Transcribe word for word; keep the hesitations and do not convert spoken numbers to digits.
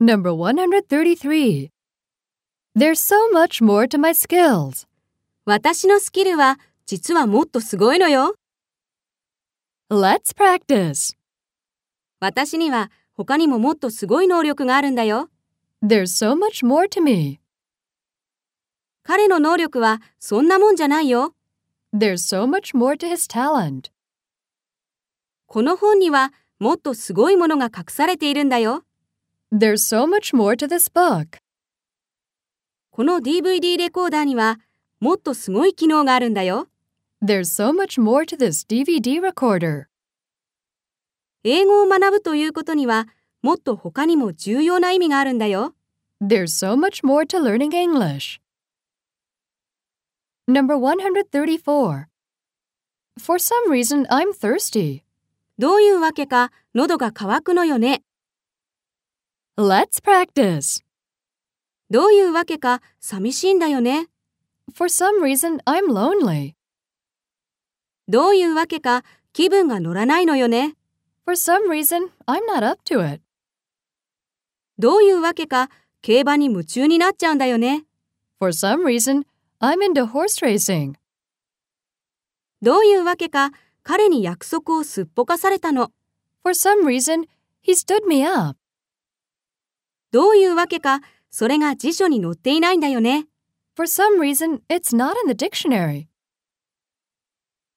Number one hundred thirty-three. There's so much more to my skills. 私のスキルは実はもっとすごいのよ。 Let's practice. 私には他にももっとすごい能力があるんだよ。 There's so much more to me. 彼の能力はそんなもんじゃないよ。 There's so much more to his talent. この本にはもっとすごいものが隠されているんだよ。 There's so much more to this book. この ディーブイディー レコーダーにはもっとすごい機能があるんだよ。 There's so much more to this ディーブイディー recorder. 英語を学ぶということにはもっと他にも重要な意味があるんだよ。 There's so much more to learning English. Number one hundred thirty-four. For some reason, I'm thirsty. どういうわけか喉が渇くのよね。 Let's practice. どういうわけか寂しいんだよね。 For some reason, I'm lonely. どういうわけか気分が乗らないのよね。 For some reason, I'm not up to it. どういうわけか競馬に夢中になっちゃうんだよね。 For some reason, I'm into horse racing. どういうわけか彼に約束をすっぽかされたの。 For some reason, he stood me up. どういうわけかそれが辞書に載っていないんだよね。 For some reason, it's not in the dictionary.